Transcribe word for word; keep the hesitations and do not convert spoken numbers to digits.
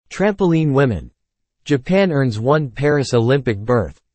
Trampoline women. Japan earns one Paris Olympic berth.